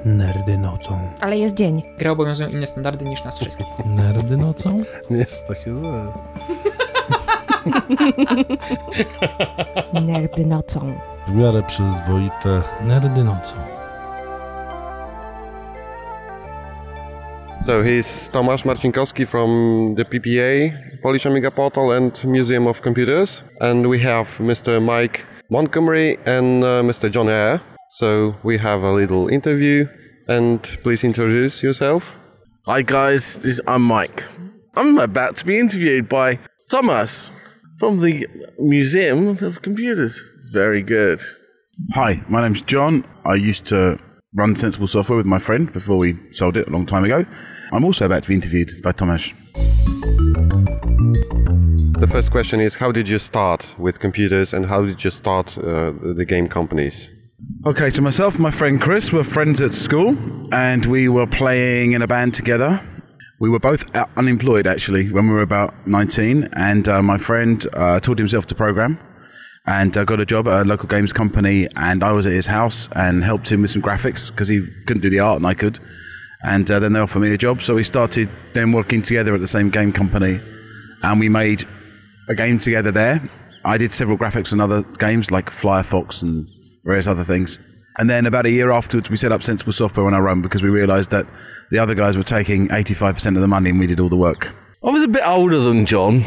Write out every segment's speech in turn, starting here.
Nerdy nocą. Ale jest dzień. Gry obowiązują inne standardy niż nas wszystkich. Nerdy nocą? Nie jest takie złe. Nerdy nocą. W miarę przyzwoite. Nerdy nocą. So he's Tomasz Marcinkowski from the PPA, Polish Amiga Portal and Museum of Computers. And we have Mr. Mike Montgomery and Mr. John Eyre. So we have a little interview, and please introduce yourself. Hi guys, I'm Mike. I'm about to be interviewed by Thomas from the Museum of Computers. Very good. Hi, my name's John. I used to run Sensible Software with my friend before we sold it a long time ago. I'm also about to be interviewed by Tomasz. The first question is, how did you start with computers and how did you start the game companies? Okay, so myself and my friend Chris were friends at school and we were playing in a band together. We were both unemployed actually when we were about 19, and my friend taught himself to program and got a job at a local games company, and I was at his house and helped him with some graphics because he couldn't do the art and I could. And then they offered me a job, so we started then working together at the same game company, and we made a game together there. I did several graphics on other games like Firefox and various other things. And then about a year afterwards, we set up Sensible Software on our own because we realised that the other guys were taking 85% of the money and we did all the work. I was a bit older than John.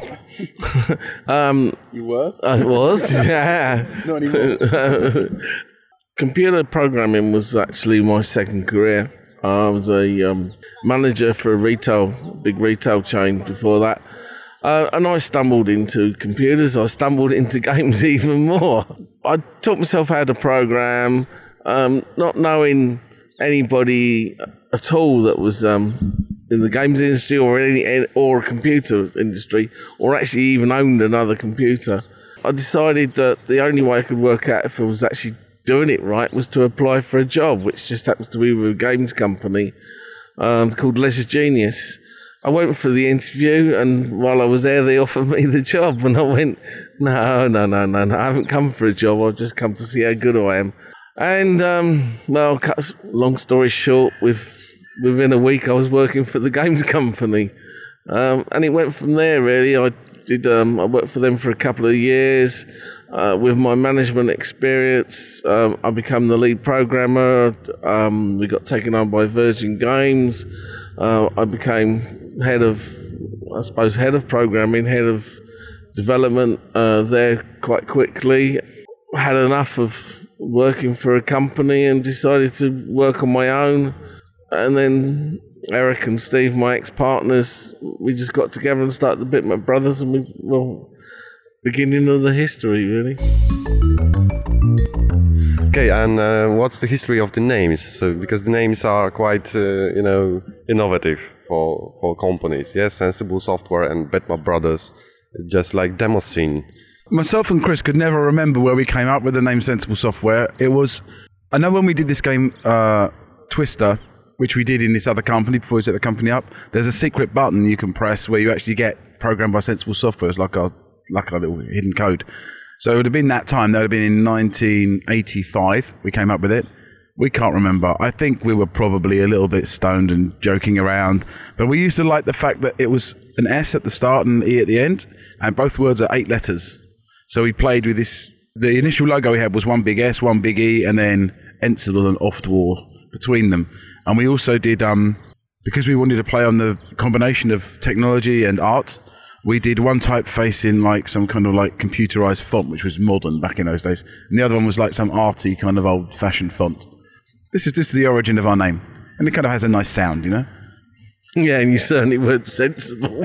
You were? I was, yeah. Not anymore. Computer programming was actually my second career. I was a manager for a big retail chain before that. And I stumbled into computers. I stumbled into games even more. I taught myself how to program, not knowing anybody at all that was in the games industry or a computer industry, or actually even owned another computer. I decided that the only way I could work out if I was actually doing it right was to apply for a job, which just happens to be with a games company called Leisure Genius. I went for the interview, and while I was there, they offered me the job, and I went, no, I haven't come for a job, I've just come to see how good I am. And, well, cut long story short, within a week I was working for the games company, and it went from there, really. I worked for them for a couple of years. With my management experience, I became the lead programmer. We got taken on by Virgin Games. I became head of programming, head of development there quite quickly. Had enough of working for a company and decided to work on my own. And then Eric and Steve, my ex-partners, we just got together and started the Bitmap Brothers, and beginning of the history, really. Okay, and what's the history of the names? So, because the names are quite, innovative for companies. Yes, Sensible Software and Bitmap Brothers, just like Demoscene. Myself and Chris could never remember where we came up with the name Sensible Software. I know when we did this game, Twister, which we did in this other company before we set the company up, there's a secret button you can press where you actually get programmed by Sensible Software. It's like a little hidden code. So it would have been that time. That would have been in 1985. We came up with it. We can't remember. I think we were probably a little bit stoned and joking around. But we used to like the fact that it was an S at the start and an E at the end. And both words are 8 letters. So we played with this. The initial logo we had was one big S, one big E, and then Ensible and Oftwar between them. And we also did, because we wanted to play on the combination of technology and art, we did one typeface in like some kind of like computerized font, which was modern back in those days. And the other one was like some arty kind of old fashioned font. This is the origin of our name. And it kind of has a nice sound, you know? Yeah, and you certainly weren't sensible.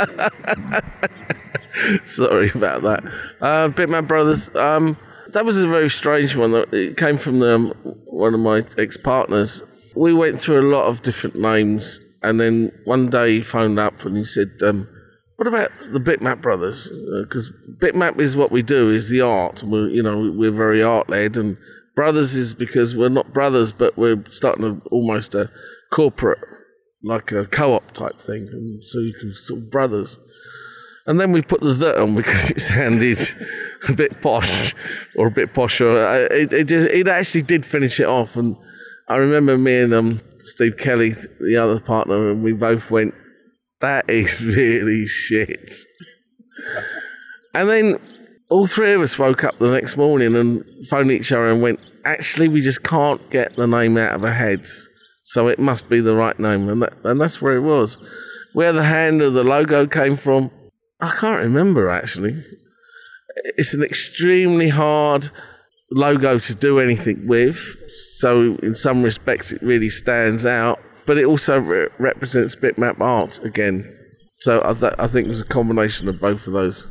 Sorry about that. Bitmap Brothers, that was a very strange one. It came from one of my ex-partners. We went through a lot of different names, and then one day he phoned up and he said, what about the Bitmap Brothers? Because Bitmap is what we do, is the art. We're very art-led, and Brothers is because we're not brothers, but we're starting almost a corporate, like a co-op type thing, and so you can sort of brothers. And then we put the on because it sounded a bit posh, or a bit posher. It actually did finish it off, and I remember me and Steve Kelly, the other partner, and we both went, that is really shit. And then all three of us woke up the next morning and phoned each other and went, actually, we just can't get the name out of our heads. So it must be the right name. And that's where it was. Where the hand of the logo came from, I can't remember, actually. It's an extremely hard logo to do anything with. So in some respects, it really stands out. But it also represents bitmap art again. So I think it was a combination of both of those.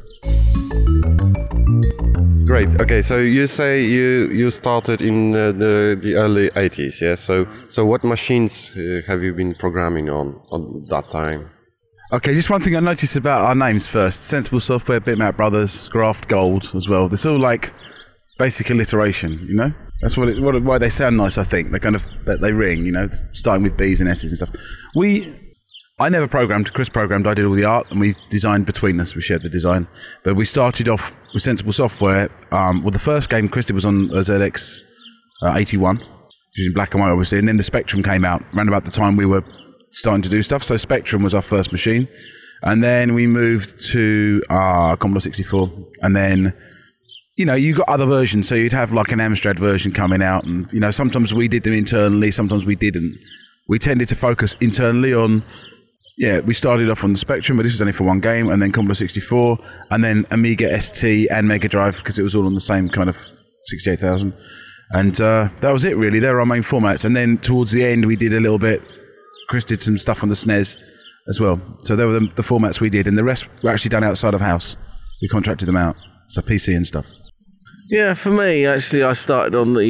Great. Okay, so you say you started in the early 80s, yeah? So what machines have you been programming on that time? Okay, just one thing I noticed about our names first. Sensible Software, Bitmap Brothers, Graft Gold as well. It's all like basic alliteration, you know? That's why they sound nice, I think. They ring, you know, starting with B's and S's and stuff. I never programmed. Chris programmed. I did all the art, and we designed between us. We shared the design. But we started off with Sensible Software. The first game Chris did was on a ZX 81, which is in black and white, obviously. And then the Spectrum came out around about the time we were starting to do stuff. So Spectrum was our first machine. And then we moved to Commodore 64. And then, you know, you got other versions. So you'd have like an Amstrad version coming out. And, you know, sometimes we did them internally. Sometimes we didn't. We tended to focus internally on... Yeah, we started off on the Spectrum, but this was only for one game, and then Commodore 64, and then Amiga ST and Mega Drive, because it was all on the same kind of 68,000. And that was it, really. They were our main formats. And then towards the end, we did a little bit. Chris did some stuff on the SNES as well. So they were the formats we did, and the rest were actually done outside of house. We contracted them out, so PC and stuff. Yeah, for me, actually, I started on the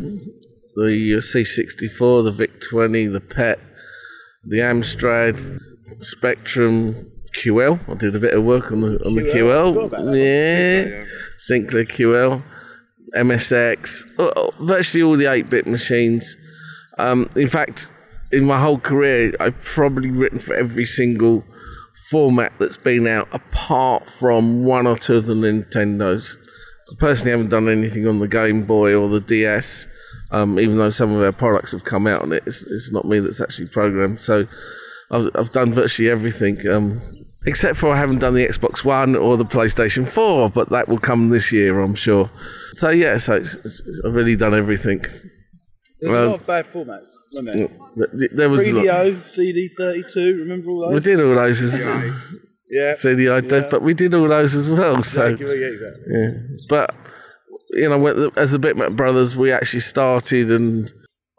C64, the VIC-20, the PET, the Amstrad, Spectrum, QL. I did a bit of work on the QL. Yeah, Sinclair QL, MSX, virtually all the 8-bit machines. In fact, in my whole career, I've probably written for every single format that's been out, apart from one or two of the Nintendos. I personally haven't done anything on the Game Boy or the DS, even though some of our products have come out on it. It's not me that's actually programmed. So I've done virtually everything, except for I haven't done the Xbox One or the PlayStation 4, but that will come this year, I'm sure. So yeah, I've really done everything. There's a lot of bad formats, wasn't there? There was 3DO, CD32, remember all those? We did all those. Yeah. CD, but we did all those as well. Exactly. Yeah. But you know, as the Bitmap Brothers, we actually started, and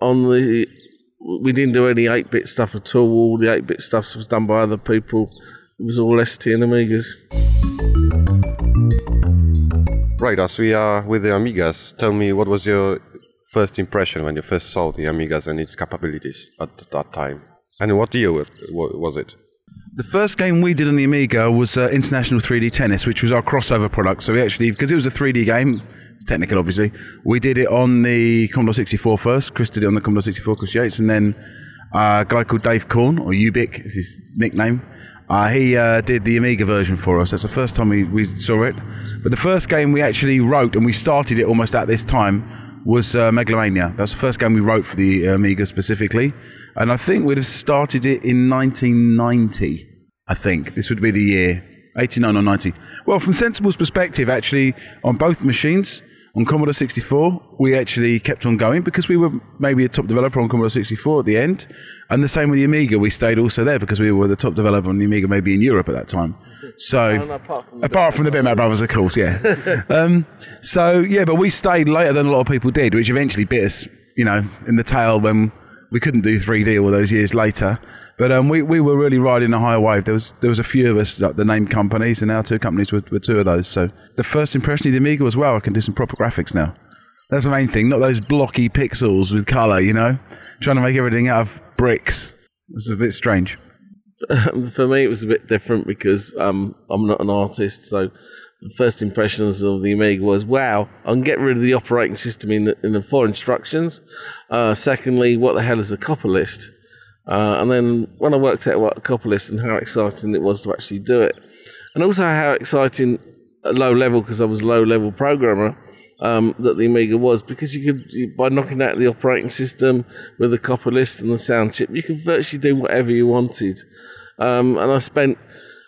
we didn't do any 8-bit stuff at all. All the 8-bit stuff was done by other people. It was all ST and Amigas. Right, as we are with the Amigas, tell me, what was your first impression when you first saw the Amigas and its capabilities at that time? And what year was it? The first game we did on the Amiga was International 3D Tennis, which was our crossover product. So we actually, because it was a 3D game, it's technical obviously, we did it on the Commodore 64 first. Chris did it on the Commodore 64, Chris Yates, and then a guy called Dave Korn, or Ubik is his nickname. He did the Amiga version for us. That's the first time we saw it. But the first game we actually wrote, and we started it almost at this time, was Megalomania. That's the first game we wrote for the Amiga specifically. And I think we'd have started it in 1990, I think. This would be the year, 89 or 90. Well, from Sensible's perspective, actually, on both machines, on Commodore 64, we actually kept on going because we were maybe a top developer on Commodore 64 at the end. And the same with the Amiga. We stayed also there because we were the top developer on the Amiga, maybe in Europe at that time. So, apart from the Bitmap Brothers, of course, yeah. But we stayed later than a lot of people did, which eventually bit us, you know, in the tail when we couldn't do 3D all those years later. But we were really riding a high wave. There was a few of us, like the named companies, and our two companies were two of those. So the first impression of the Amiga was, wow, I can do some proper graphics now. That's the main thing, not those blocky pixels with colour, you know? Trying to make everything out of bricks. It was a bit strange. For me, it was a bit different because I'm not an artist, so the first impressions of the Amiga was, wow, I can get rid of the operating system in the 4 instructions. Secondly, what the hell is a copper list? And then when I worked out what a copper list and how exciting it was to actually do it, and also how exciting at low level, because I was a low level programmer, that the Amiga was, because by knocking out the operating system with the copper list and the sound chip, you could virtually do whatever you wanted. And I spent,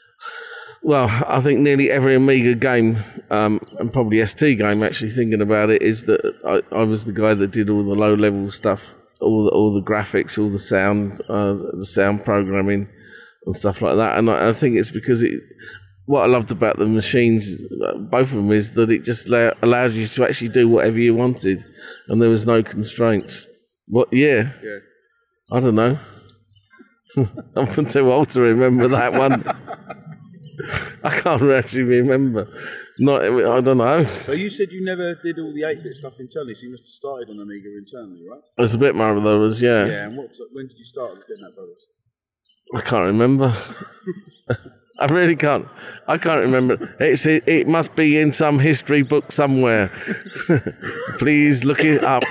I think nearly every Amiga game, and probably ST game, actually thinking about it, is that I was the guy that did all the low-level stuff, all the graphics, all the sound programming and stuff like that. And I think it's because what I loved about the machines, both of them, is that it just allowed you to actually do whatever you wanted, and there was no constraints. What year? Yeah. I don't know. I'm too old to remember that one. I can't actually remember. I don't know. But you said you never did all the 8-bit stuff internally, so you must have started on Amiga internally, right? As a Bitmap Brothers, yeah. Yeah, and when did you start with Bitmap Brothers? I can't remember. I really can't. I can't remember. It must be in some history book somewhere. Please look it up.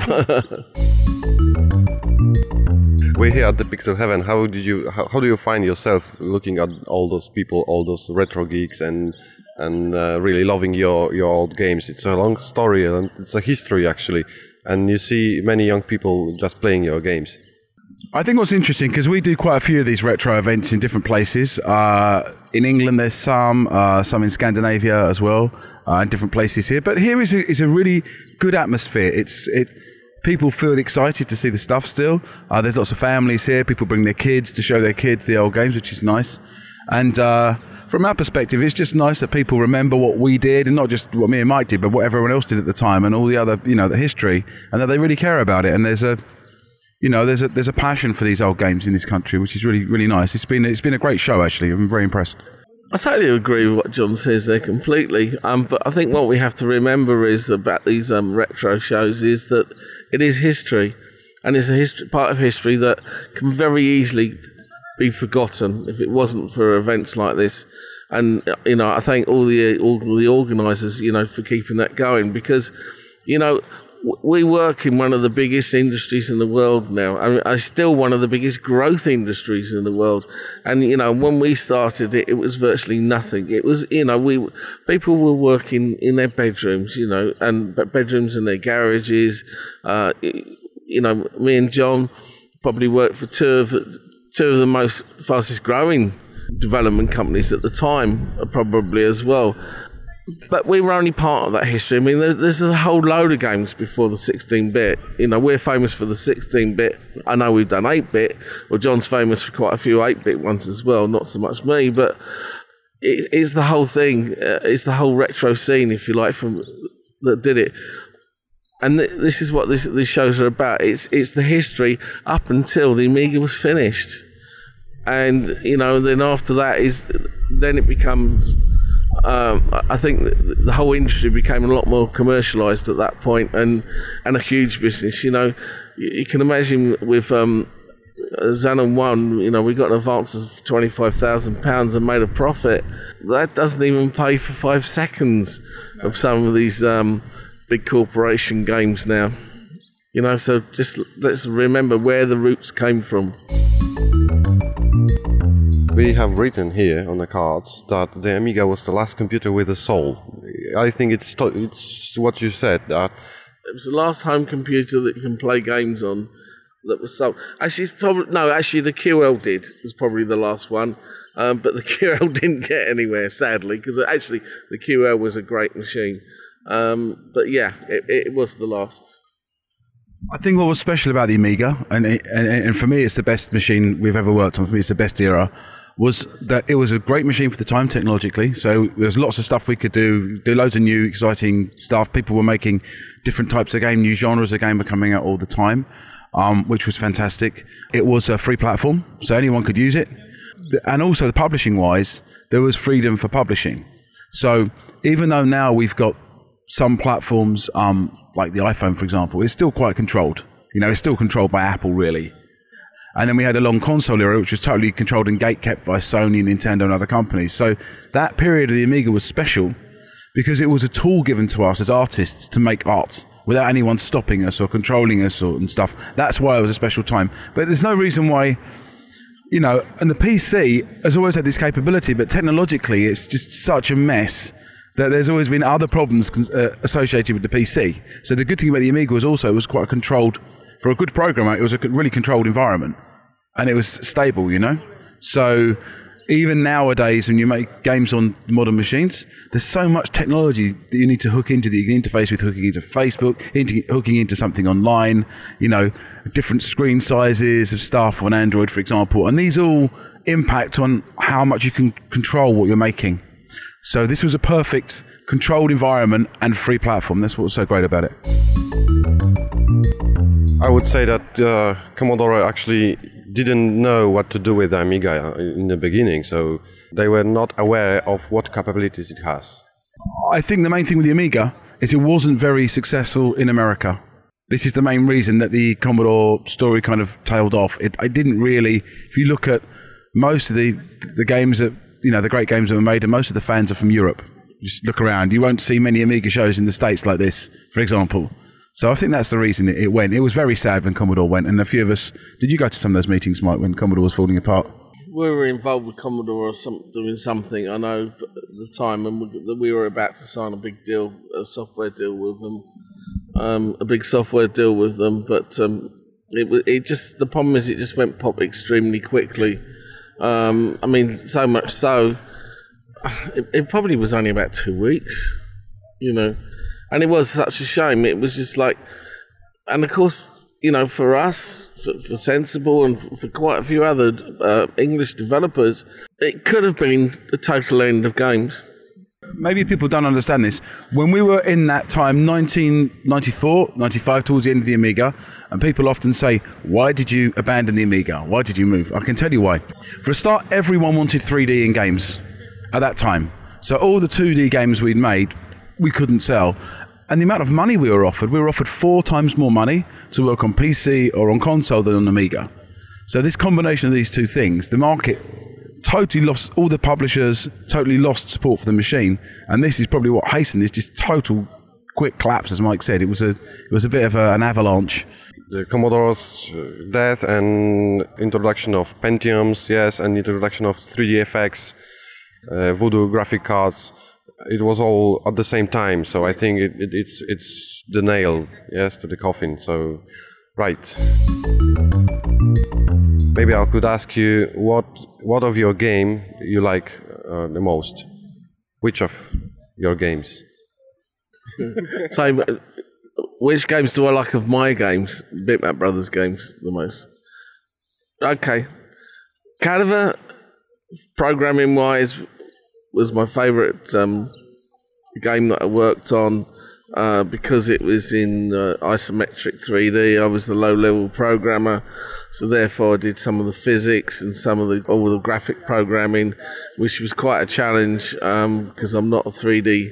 We're here at the Pixel Heaven. How do you find yourself looking at all those people, all those retro geeks, and really loving your old games? It's a long story and it's a history actually, and you see many young people just playing your games. I think what's interesting, because we do quite a few of these retro events in different places. In England, there's some in Scandinavia as well, and different places here. But here is a really good atmosphere. People feel excited to see the stuff still. There's lots of families here. People bring their kids to show their kids the old games, which is nice. And from our perspective, it's just nice that people remember what we did, and not just what me and Mike did, but what everyone else did at the time, and all the other, the history, and that they really care about it. And there's a passion for these old games in this country, which is really, really nice. It's been a great show, actually. I'm very impressed. I totally agree with what John says there completely. But I think what we have to remember is about these retro shows is that it is history, and it's a part of history that can very easily be forgotten if it wasn't for events like this. And I thank all the organisers, for keeping that going, because we work in one of the biggest industries in the world now. I mean, it's still one of the biggest growth industries in the world. And, when we started it, it was virtually nothing. It was, people were working in their bedrooms, and bedrooms in their garages. Me and John probably worked for two of the most fastest growing development companies at the time, probably as well. But we were only part of that history. I mean, there's a whole load of games before the 16-bit. We're famous for the 16-bit. I know we've done 8-bit. Well, John's famous for quite a few 8-bit ones as well. Not so much me, but it's the whole thing. It's the whole retro scene, if you like, that did it. And this is what these shows are about. It's the history up until the Amiga was finished. And, then after that then it becomes... I think the whole industry became a lot more commercialised at that point, and a huge business. You can imagine with Xenon 1, we got an advance of £25,000 and made a profit. That doesn't even pay for 5 seconds of some of these big corporation games now. So just let's remember where the roots came from. We have written here on the cards that the Amiga was the last computer with a soul. I think it's what you said. That it was the last home computer that you can play games on that was sold. Actually, the QL did. It was probably the last one. But the QL didn't get anywhere, sadly, because actually the QL was a great machine. But yeah, it was the last. I think what was special about the Amiga, and for me it's the best machine we've ever worked on, for me it's the best era, was that it was a great machine for the time technologically. So there's lots of stuff we could do loads of new exciting stuff. People were making different types of game, new genres of game were coming out all the time, which was fantastic. It was a free platform, so anyone could use it. And also the publishing wise, there was freedom for publishing. So even though now we've got some platforms, like the iPhone, for example, it's still quite controlled. It's still controlled by Apple, really. And then we had a long console era, which was totally controlled and gate-kept by Sony, Nintendo, and other companies. So that period of the Amiga was special because it was a tool given to us as artists to make art without anyone stopping us or controlling us and stuff. That's why it was a special time. But there's no reason why, and the PC has always had this capability, but technologically it's just such a mess there's always been other problems associated with the PC. So the good thing about the Amiga was also it was quite controlled, for a good programmer, it was a really controlled environment. And it was stable, you know? So even nowadays, when you make games on modern machines, there's so much technology that you need to hook into that you can interface with, hooking into Facebook, hooking into something online, you know, different screen sizes of stuff on Android, for example. And these all impact on how much you can control what you're making. So this was a perfect controlled environment and free platform. That's what was so great about it. I would say that Commodore actually didn't know what to do with the Amiga in the beginning, so they were not aware of what capabilities it has. I think the main thing with the Amiga is it wasn't very successful in America. This is the main reason that the Commodore story kind of tailed off. I didn't really, if you look at most of the games that, you know, the great games that were made, and most of the fans are from Europe. Just look around, you won't see many Amiga shows in the States like this, for example. So I think that's the reason it went. It was very sad when Commodore went, and a few of us... Did you go to some of those meetings, Mike, when Commodore was falling apart? We were involved with Commodore or doing something, I know, at the time, and we were about to sign a big deal, a software deal with them, but it just... The problem is it just went pop extremely quickly. I mean, so much so, it probably was only about 2 weeks, you know. And it was such a shame. It was just like, and of course, you know, for us, for Sensible and for quite a few other English developers, it could have been the total end of games. Maybe people don't understand this. When we were in that time, 1994, 95, towards the end of the Amiga, and people often say, why did you abandon the Amiga? Why did you move? I can tell you why. For a start, everyone wanted 3D in games at that time. So all the 2D games we'd made, we couldn't sell. And the amount of money we were offered 4 times more money to work on PC or on console than on Amiga. So this combination of these two things, the market totally lost, all the publishers totally lost support for the machine. And this is probably what hastened this just total quick collapse, as Mike said. It was a bit of an avalanche. The Commodore's death and introduction of Pentiums, yes, and introduction of 3DFX, Voodoo graphic cards, it was all at the same time, so I think it's the nail, yes, to the coffin. So, right. Maybe I could ask you what of your game you like the most? Which of your games? So, which games do I like of my games? Bitmap Brothers games the most. Okay, Cadaver, programming wise, was my favourite game that I worked on because it was in isometric 3D. I was the low-level programmer, so therefore I did some of the physics and all the graphic programming, which was quite a challenge because I'm not 3D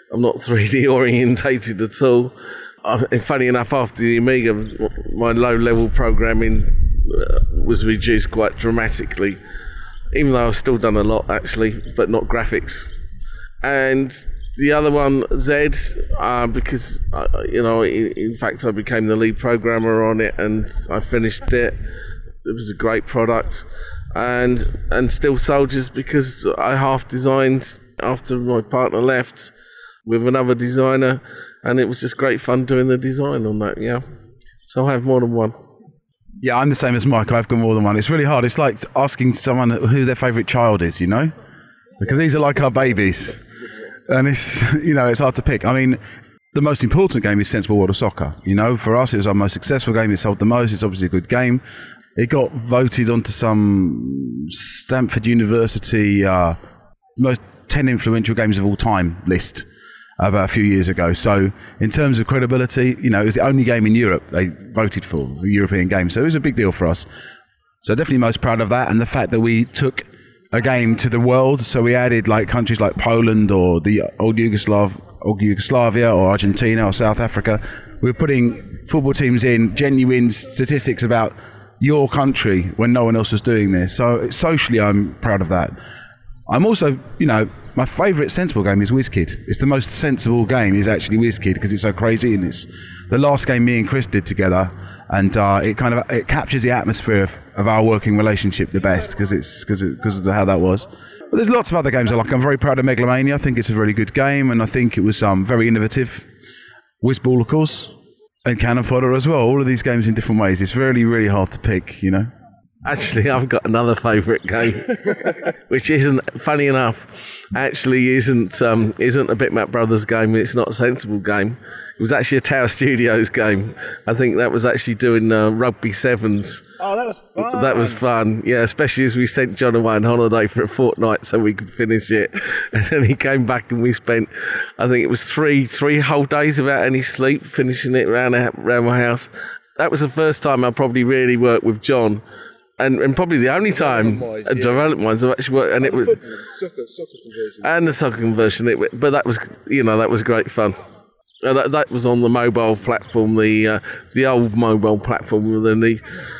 orientated at all. And funny enough, after the Amiga, my low-level programming was reduced quite dramatically. Even though I've still done a lot, actually, but not graphics. And the other one, Z, because, in fact, I became the lead programmer on it and I finished it. It was a great product. And Steel Soldiers, because I half-designed after my partner left with another designer, and it was just great fun doing the design on that, yeah. So I have more than one. Yeah, I'm the same as Mike. I've got more than one. It's really hard. It's like asking someone who their favourite child is, you know? Because these are like our babies. And it's, it's hard to pick. I mean, the most important game is Sensible World of Soccer. You know, for us, it was our most successful game. It sold the most. It's obviously a good game. It got voted onto some Stanford University most 10 influential games of all time list about a few years ago. So in terms of credibility, it was the only game in Europe they voted for, the European game. So it was a big deal for us. So definitely most proud of that, and the fact that we took a game to the world. So we added like countries like Poland or the old Yugoslavia or Argentina or South Africa. We were putting football teams in genuine statistics about your country when no one else was doing this. So socially, I'm proud of that. I'm also, my favourite sensible game is WizKid. It's the most sensible game is actually WizKid because it's so crazy and it's the last game me and Chris did together, and it captures the atmosphere of our working relationship the best because of how that was. But there's lots of other games I like. I'm very proud of Megalomania. I think it's a really good game, and I think it was very innovative. Whizball, of course, and Cannon Fodder as well. All of these games in different ways. It's really, really hard to pick, you know. Actually, I've got another favourite game, which isn't, funny enough, actually isn't a Bitmap Brothers game. It's not a sensible game. It was actually a Tower Studios game. I think that was actually doing rugby sevens. Oh, that was fun. That was fun, yeah, especially as we sent John away on holiday for a fortnight so we could finish it. And then he came back and we spent, I think it was three whole days without any sleep, finishing it around my house. That was the first time I probably really worked with John. And probably the only time development-wise I've actually worked, and it was soccer conversion. And the soccer conversion. But that was great fun. That was on the mobile platform, the old mobile platform with the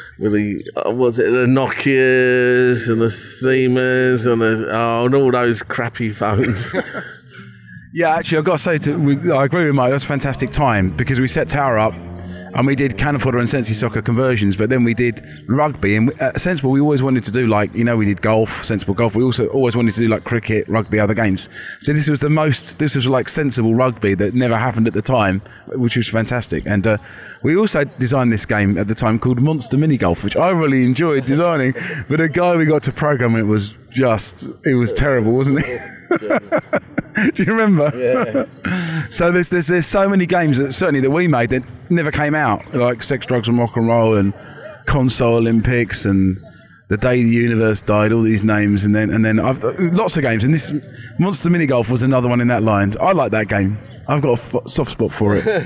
Nokias and the Siemens and all those crappy phones. Yeah, actually, I've got to say, I agree with Mike. That was a fantastic time because we set Tower up. And we did Cannon Fodder and Sensi Soccer conversions, but then we did rugby. And at Sensible, we always wanted to do we did golf, Sensible Golf. We also always wanted to do cricket, rugby, other games. So this was sensible rugby that never happened at the time, which was fantastic. And we also designed this game at the time called Monster Mini Golf, which I really enjoyed designing. But the guy we got to program it was terrible, wasn't it? Do you remember? Yeah. So there's so many games that we made that never came out, like Sex, Drugs and Rock and Roll and Console Olympics and The Day the Universe Died, all these names, and then I've lots of games, and this Monster Mini Golf was another one in that line. I like that game. I've got a soft spot for it.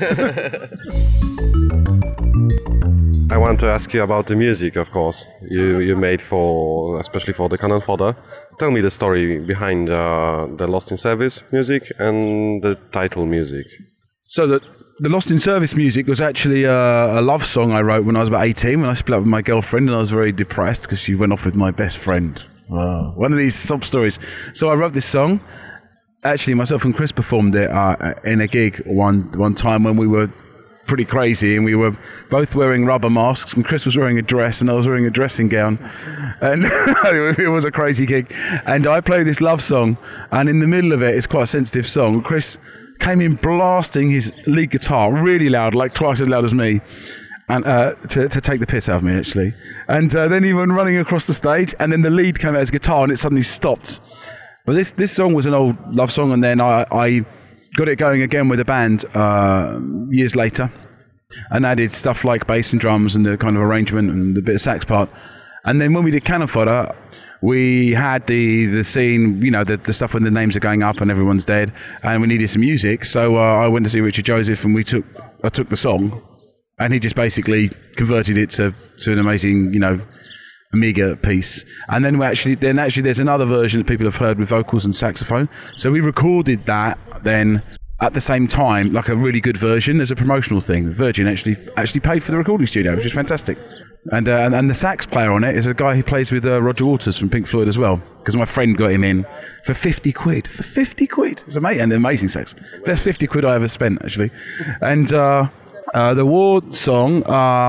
I want to ask you about the music, of course. You made especially for the Cannon Fodder. Tell me the story behind the Lost in Service music and the title music. So the Lost in Service music was actually a love song I wrote when I was about 18, when I split up with my girlfriend, and I was very depressed because she went off with my best friend. Wow. One of these sob stories. So I wrote this song. Actually, myself and Chris performed it in a gig one time when we were pretty crazy, and we were both wearing rubber masks, and Chris was wearing a dress and I was wearing a dressing gown, and it was a crazy gig. And I played this love song, and in the middle of it, it's quite a sensitive song, Chris came in blasting his lead guitar really loud, like twice as loud as me, and to take the piss out of me, actually. And then he went running across the stage, and then the lead came out of his guitar and it suddenly stopped. But this song was an old love song, and then I got it going again with a band years later, and added stuff like bass and drums and the kind of arrangement and the bit of sax part. And then when we did Cannon Fodder, we had the scene, the stuff when the names are going up and everyone's dead, and we needed some music. So I went to see Richard Joseph, and I took the song, and he just basically converted it to an amazing, Amiga piece. And then there's another version that people have heard with vocals and saxophone. So we recorded that then at the same time, like a really good version as a promotional thing. Virgin actually paid for the recording studio, which is fantastic. And the sax player on it is a guy who plays with Roger Waters from Pink Floyd as well, because my friend got him in for 50 quid. For 50 quid. It was amazing, and amazing sax. Best 50 quid I ever spent, actually. And the War song,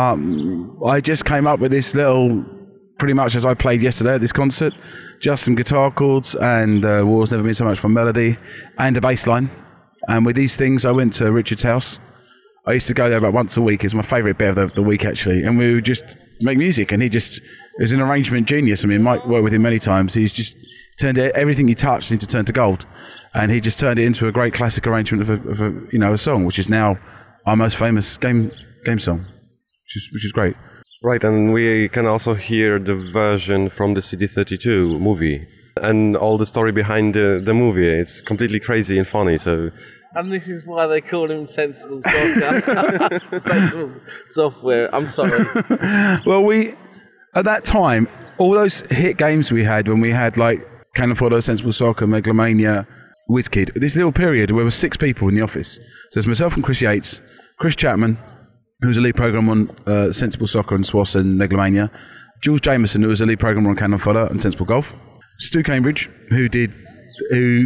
I just came up with this little, pretty much as I played yesterday at this concert, just some guitar chords, and War's Never Been So Much Fun melody, and a bass line. And with these things, I went to Richard's house. I used to go there about once a week. It's my favourite bit of the week, actually. And we would just make music. And he was an arrangement genius. I mean, Mike worked with him many times. He's just turned everything he touched seemed to turn to gold. And he just turned it into a great classic arrangement of a song, which is now our most famous game song, which is great. Right, and we can also hear the version from the CD32 movie. And all the story behind the movie. It's completely crazy and funny, so... And this is why they call him Sensible Software. Sensible Software, I'm sorry. Well, at that time, all those hit games we had, when we had like Cannon Fodder, Sensible Soccer, Megalomania, WizKid, this little period where there were 6 people in the office. So it's myself and Chris Yates, Chris Chapman, who's a lead programmer on Sensible Soccer and SWAS and Megalomania, Jules Jameson, who was a lead programmer on Cannon Fodder and Sensible Golf, Stu Cambridge, who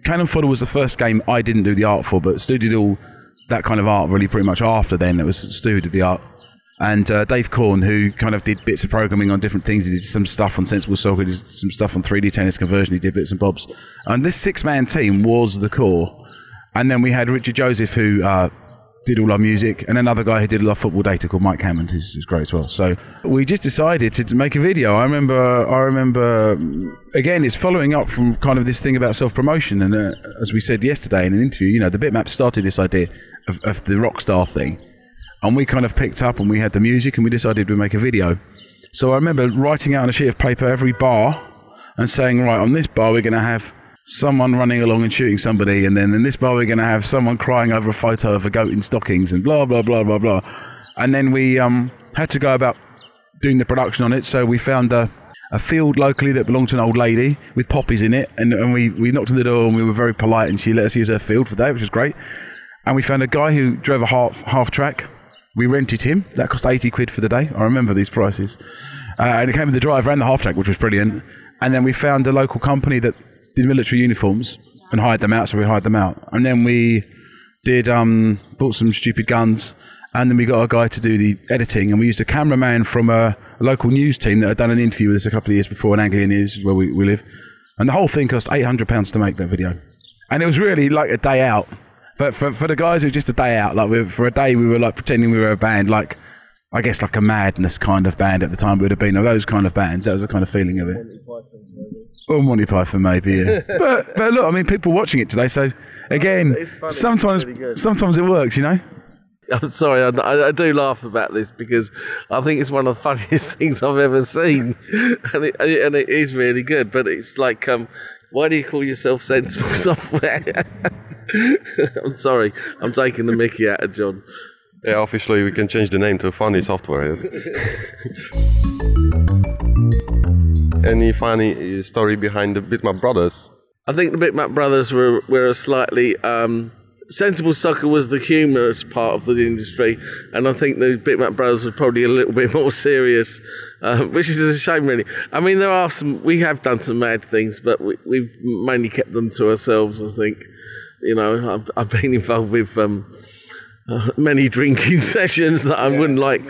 Cannon Fodder was the first game I didn't do the art for, but Stu did all that kind of art really pretty much after then. It was Stu who did the art. And Dave Korn, who kind of did bits of programming on different things. He did some stuff on Sensible Soccer, he did some stuff on 3D Tennis Conversion, he did bits and bobs. And this 6-man team was the core. And then we had Richard Joseph, who did all our music, and another guy who did all our football data called Mike Hammond, who's great as well. So we just decided to make a video. I remember, again, it's following up from kind of this thing about self-promotion. And as we said yesterday in an interview, you know, the Bitmap started this idea of the Rockstar thing. And we kind of picked up and we had the music and we decided we'd make a video. So I remember writing out on a sheet of paper every bar and saying, right, on this bar we're going to have someone running along and shooting somebody, and then in this bar we're going to have someone crying over a photo of a goat in stockings, and blah, blah, blah, blah, blah. And then we had to go about doing the production on it, so we found a field locally that belonged to an old lady with poppies in it, and we knocked on the door and we were very polite, and she let us use her field for that, which was great. And we found a guy who drove a half track. We rented him. That cost 80 quid for the day. I remember these prices. And it came with the driver and the half track, which was brilliant. And then we found a local company that did military uniforms and hired them out, so we hired them out. And then we did bought some stupid guns, and then we got a guy to do the editing, and we used a cameraman from a local news team that had done an interview with us a couple of years before in Anglia News, where we live. And the whole thing cost £800 to make that video. And it was really like a day out. But for the guys, it was just a day out. Like for a day, we were like pretending we were a band, like I guess like a Madness kind of band at the time would have been, or those kind of bands. That was the kind of feeling of it. Or Monty Python, maybe, yeah. but look, I mean, people watching it today, so again, it's funny. sometimes It's really sometimes it works, you know? I'm sorry, I do laugh about this because I think it's one of the funniest things I've ever seen, and it is really good. But it's like, why do you call yourself Sensible Software? I'm sorry, I'm taking the mickey out of John. Yeah, officially we can change the name to Funny Software. Yes. Any funny story behind the Bitmap Brothers? I think the Bitmap Brothers were a slightly... Sensible Soccer was the humorous part of the industry, and I think the Bitmap Brothers were probably a little bit more serious, which is a shame, really. I mean, we have done some mad things, but we've mainly kept them to ourselves, I think. You know, I've been involved with many drinking sessions that I wouldn't like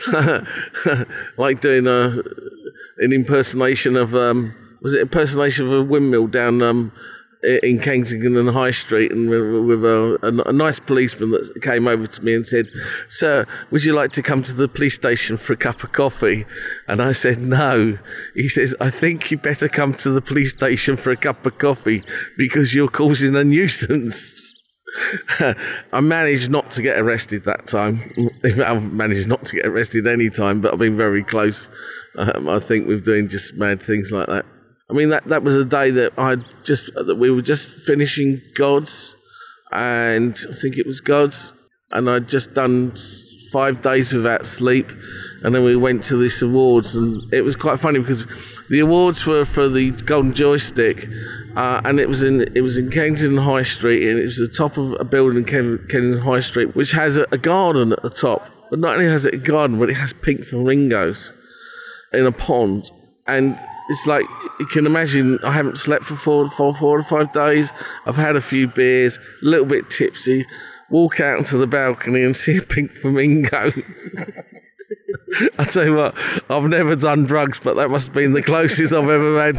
doing an impersonation of a windmill down in Kensington and High Street, and with a nice policeman that came over to me and said, "Sir, would you like to come to the police station for a cup of coffee?" And I said, "No." He says, "I think you better come to the police station for a cup of coffee because you're causing a nuisance." I managed not to get arrested that time. I've managed not to get arrested any time, but I've been very close. I think with doing just mad things like that. I mean, that was a day that we were just finishing Gods, and I think it was Gods, and I'd just done 5 days without sleep, and then we went to this awards, and it was quite funny because the awards were for the Golden Joystick, and it was in Kensington High Street, and it was the top of a building in Kensington High Street, which has a garden at the top. But not only has it a garden, but it has pink flamingos in a pond, and it's like, you can imagine, I haven't slept for 4 or 5 days. I've had a few beers, a little bit tipsy, walk out onto the balcony and see a pink flamingo. I tell you what, I've never done drugs, but that must have been the closest I've ever had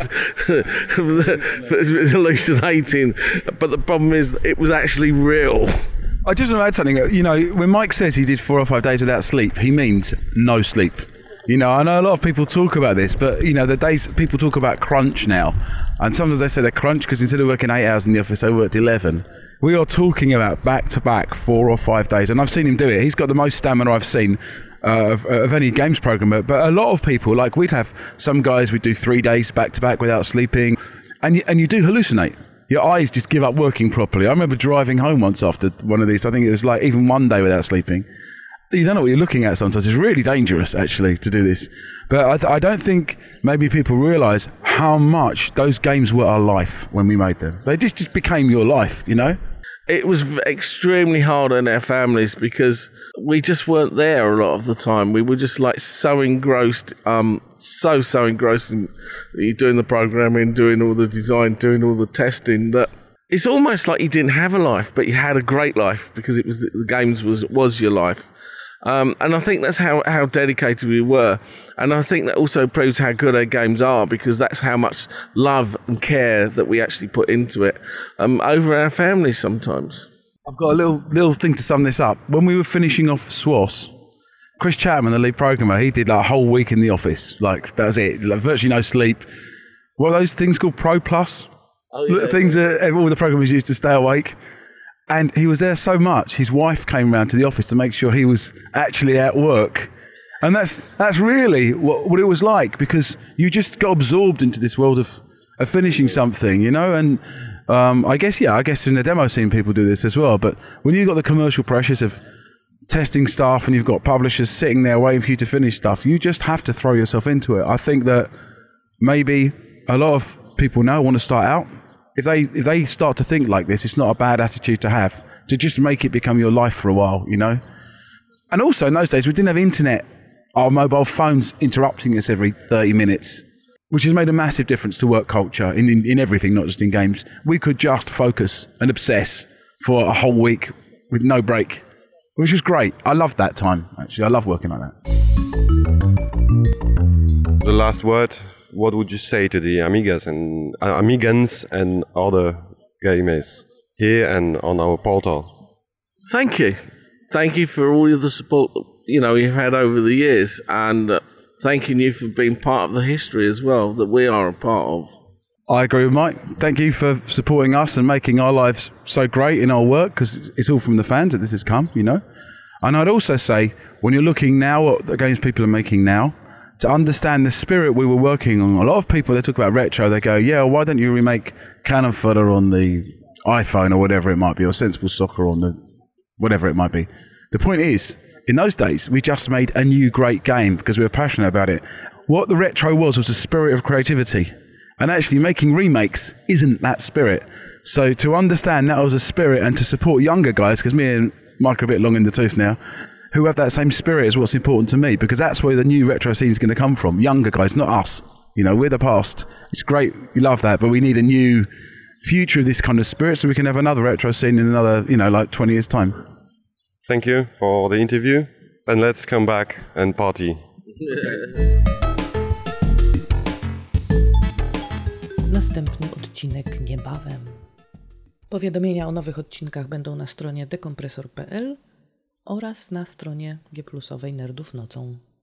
hallucinating. But the problem is, it was actually real. I just want to add something. You know, when Mike says he did 4 or 5 days without sleep, he means no sleep. You know, I know a lot of people talk about this, but, you know, the days people talk about crunch now, and sometimes they say they're crunch because instead of working 8 hours in the office, they worked 11. We are talking about back-to-back 4 or 5 days, and I've seen him do it. He's got the most stamina I've seen of any games programmer, but a lot of people, like we'd have some guys, would do 3 days back-to-back without sleeping, and you do hallucinate. Your eyes just give up working properly. I remember driving home once after one of these. I think it was like even 1 day without sleeping. You don't know what you're looking at sometimes. It's really dangerous, actually, to do this. But I don't think maybe people realise how much those games were our life when we made them. They just became your life, you know? It was extremely hard on our families because we just weren't there a lot of the time. We were just like so engrossed, so engrossed in doing the programming, doing all the design, doing all the testing that it's almost like you didn't have a life, but you had a great life because it was the games was your life. And I think that's how dedicated we were. And I think that also proves how good our games are, because that's how much love and care that we actually put into it over our families sometimes. I've got a little thing to sum this up. When we were finishing off SWOS, Chris Chapman, the lead programmer, he did like a whole week in the office. Like, that was it. Like, virtually no sleep. What are those things called? Pro Plus? Oh, yeah. Things that all the programmers used to stay awake. And he was there so much, his wife came round to the office to make sure he was actually at work. And that's really what it was like, because you just got absorbed into this world of finishing something, you know? And I guess in the demo scene people do this as well. But when you've got the commercial pressures of testing stuff and you've got publishers sitting there waiting for you to finish stuff, you just have to throw yourself into it. I think that maybe a lot of people now want to start out. If they start to think like this, it's not a bad attitude to have, to just make it become your life for a while, you know? And also in those days, we didn't have internet, our mobile phones interrupting us every 30 minutes, which has made a massive difference to work culture in everything, not just in games. We could just focus and obsess for a whole week with no break, which was great. I loved that time, actually. I love working like that. The last word, what would you say to the Amigans and other gamers here and on our portal? Thank you. Thank you for all of the support that, you've had over the years, and thanking you for being part of the history as well that we are a part of. I agree with Mike. Thank you for supporting us and making our lives so great in our work, because it's all from the fans that this has come, you know. And I'd also say, when you're looking now at the games people are making now, to understand the spirit we were working on. A lot of people, they talk about retro, they go, yeah, why don't you remake Cannon Fodder on the iPhone or whatever it might be, or Sensible Soccer on the whatever it might be. The point is, in those days, we just made a new great game because we were passionate about it. What the retro was a spirit of creativity. And actually making remakes isn't that spirit. So to understand that was a spirit and to support younger guys, because me and Mike are a bit long in the tooth now, who have that same spirit is what's important to me, because that's where the new retro scene is going to come from. Younger guys, not us. We're the past. It's great. We love that, but we need a new future of this kind of spirit so we can have another retro scene in another, like 20 years' time. Thank you for the interview, and let's come back and party. Następny odcinek niebawem. Powiadomienia o nowych odcinkach będą na stronie dekompresor.pl oraz na stronie G+owej Nerdów Nocą.